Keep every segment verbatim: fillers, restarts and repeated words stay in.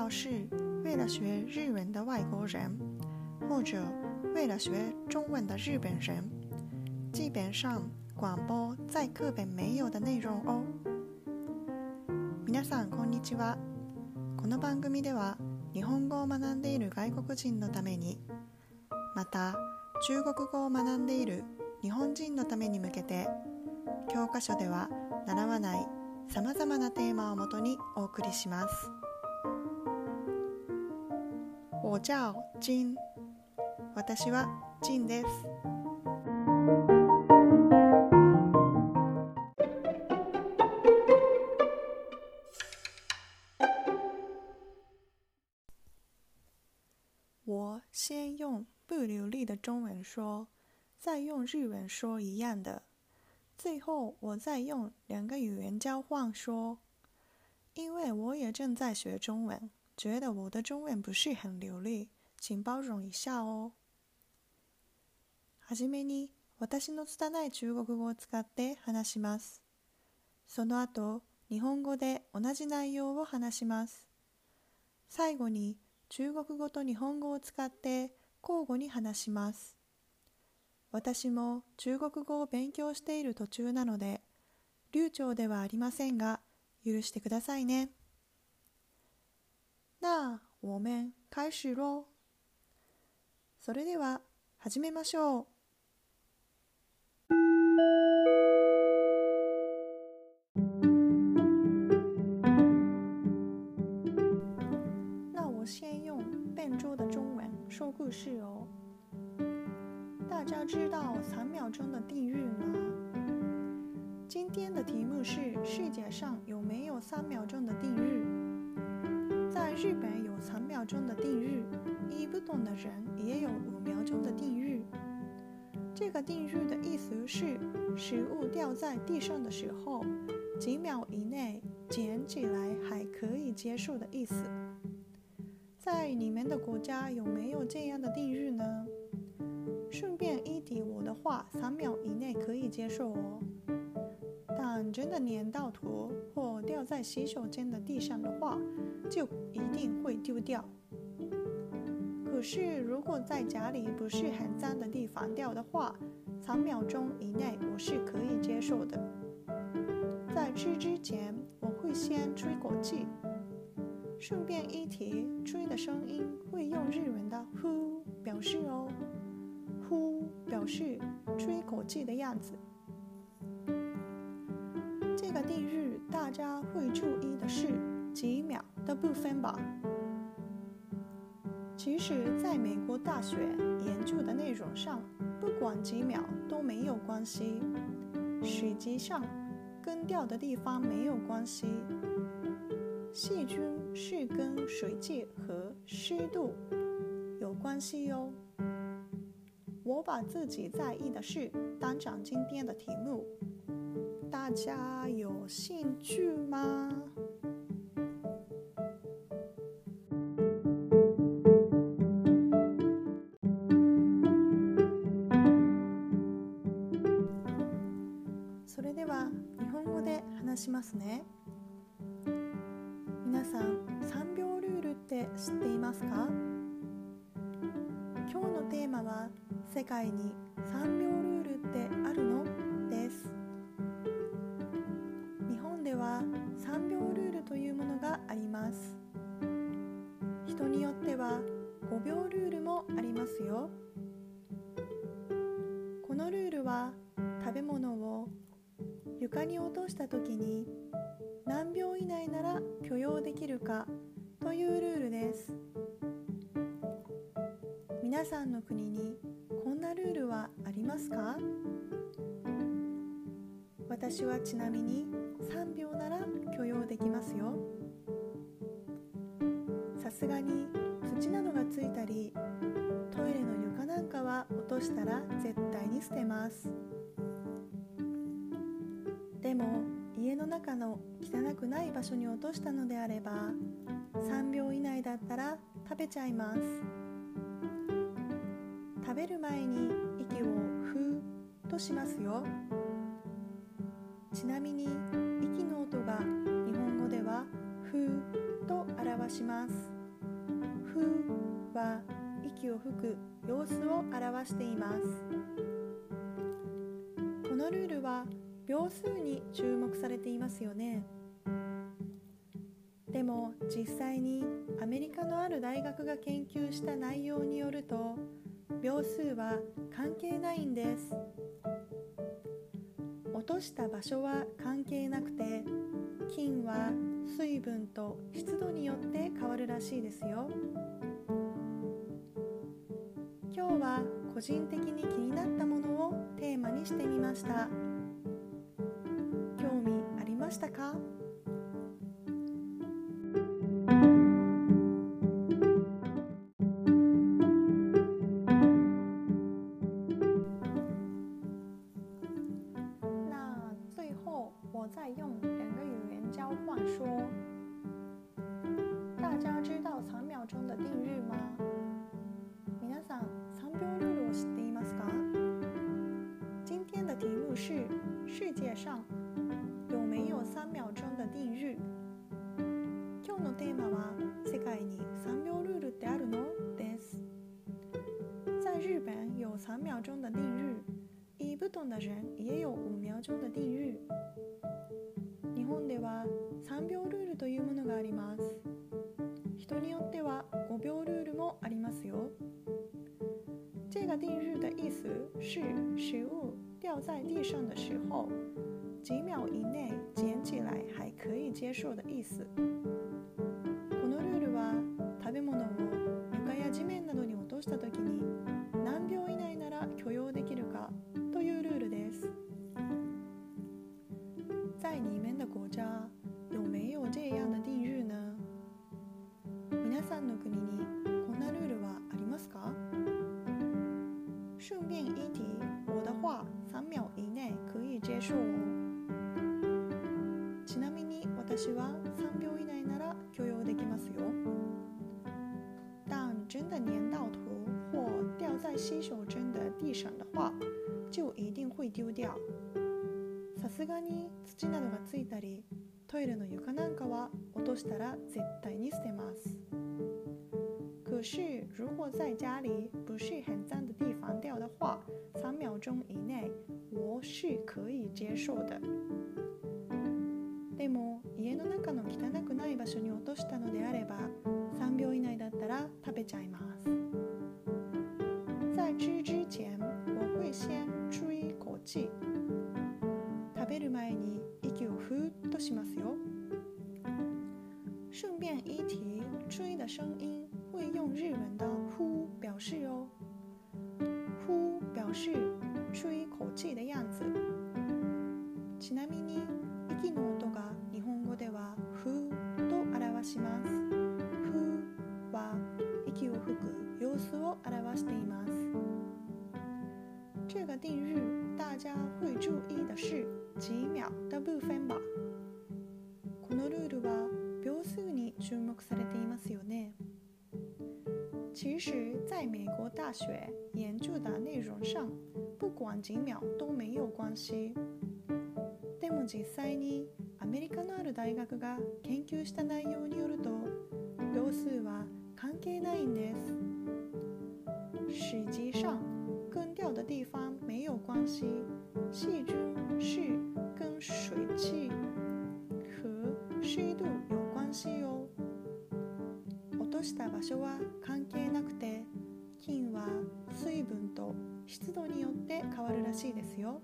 要是为了学日文的外国人，或者为了学中文的日本人，基本上广播在课本没有的内容哦。皆さんこんにちは。この番組では日本語を学んでいる外国人のために、また中国語を学んでいる日本人のために向けて、教科書では習わないさまざまなテーマをもとにお送りします。我叫金。私は金です。我先用不流利的中文说，再用日文说一样的，最后我再用两个语言交换说。因为我也正在学中文，觉得我的中文不是很流利，请包容一下哦。はじめに私の拙い中国語を使って話します。その後、日本語で同じ内容を話します。最後に中国語と日本語を使って交互に話します。私も中国語を勉強している途中なので、流暢ではありませんが、許してくださいね。那我们開始咯。それでは始めましょう。那我先用笨拙的中文说故事哦。大家知道三秒钟的定律吗？今天的题目是世界上有没有三秒钟的定律？在日本有三秒钟的定律，一不懂的人也有五秒钟的定律。这个定律的意思是，食物掉在地上的时候，几秒以内捡起来还可以接受的意思。在你们的国家有没有这样的定律呢？顺便一提，我的话三秒以内可以接受哦，但真的粘到头或掉在洗手间的地上的话，就一定会丢掉。可是如果在家里不是很脏的地方掉的话，三秒钟以内我是可以接受的。在吃之前，我会先吹口气。顺便一提，吹的声音会用日文的呼表示哦，呼表示吹口气的样子。这个定律大家会注意的是几秒的部分吧。其实在美国大学研究的内容上，不管几秒都没有关系，实际上跟掉的地方没有关系，细菌是跟水汽和湿度有关系哦。我把自己在意的事当成今天的题目，大家有兴趣吗？それでは日本語で話しますね。皆さん、さんびょうルールって知っていますか？今日のテーマは、世界にさんびょうルールってあるの？です。日本ではさんびょうルールというものがあります。人によってはごびょうルールもありますよ。このルールは、食べ物を床に落としたときに何秒以内なら許容できるかというルールです。皆さんの国にこんなルールはありますか？私はちなみにさんびょうなら許容できますよ。さすがに土などがついたり、トイレの床なんかは落としたら絶対に捨てます。でも家の中の汚くない場所に落としたのであれば、さんびょう以内だったら食べちゃいます。食べる前に息をふーとしますよ。ちなみに息の音が日本語ではふーと表します。 ふは息を吹く様子を表しています。このルールは秒数に注目されていますよね。でも実際にアメリカのある大学が研究した内容によると、秒数は関係ないんです。落とした場所は関係なくて、金は水分と湿度によって変わるらしいですよ。今日は個人的に気になったものをテーマにしてみました。興味ありましたか？那最后我再用两个语言交换说，大家知道三秒钟的定律吗？皆さん、三秒ルールを知っていますか？今天的题目是世界上有没有三秒钟的定律？今日のテーマは世界に三秒ルールってあるの？です。在日本有三秒钟的定律，以不同的人也有五秒钟的定律。日本では三秒ルールというものがあります。人によっては五秒ルールもありますよ。这个定律的意思是食物掉在地上的时候，几秒以内捡起来还可以接受的意思。このルールは食べ物を床や地面などに落としたときに何秒以内なら許容できるかというルールです。在你们的国家有没有这样的定律呢？皆さんの国にこんなルールはありますか？顺便一提，我的话三秒以内可以接受哦。ちなみに私は三秒以内なら許容できますよ。但真的粘到头或掉在洗手间的地上的话，就一定会丢掉。さすがに土などがついたり、トイレの床なんかは落としたら絶対に捨てます。可是如果在家里不是很脏的地方掉的话，三秒钟以内我是可以接受的。でも家の中の汚くない場所に落としたのであれば、三秒以内だったら食べちゃいます。在吃之前我会先吹一口气。食べる前に息をふーっとしますよ。顺便一提，吹的声音会用日文的呼表示哦。呼表示吹一口气的样子。ちなみに息の音が日本語ではふーと表します。ふーは息を吹く様子を表しています。这个定律大家会注意的是几秒的部分吧。このルールは秒数に注目されていますよね。其实在美国大学研究的内容上，不管几秒都没有关系。でも実際にアメリカのある大学が研究した内容によると、秒数は関係ないんです。实际上跟掉的地方没有关系，细菌是跟水汽和湿度有关系よ。落とした場所は関係なくて、菌は水分と湿度によって変わるらしいですよ。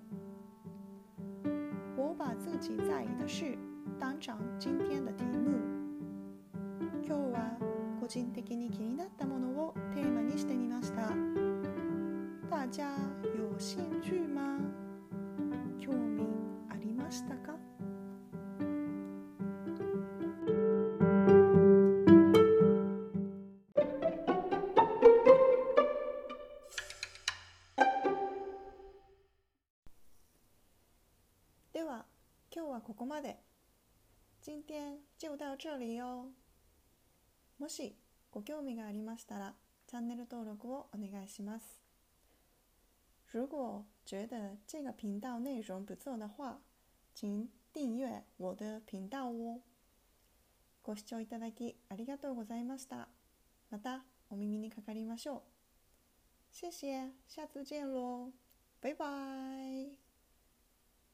我把自己在意的事当成今天的题目。今日は個人的に気になったものをテーマにしてみました。大家有兴趣吗？興味ありましたか？では、今日はここまで。今天就到这里哦。もしご興味がありましたら、チャンネル登録をお願いします。如果觉得这个频道内容不错的话，请订阅我的频道哦。ご視聴いただきありがとうございました。 またお耳にかかりましょう。谢谢，下次见喽，拜拜。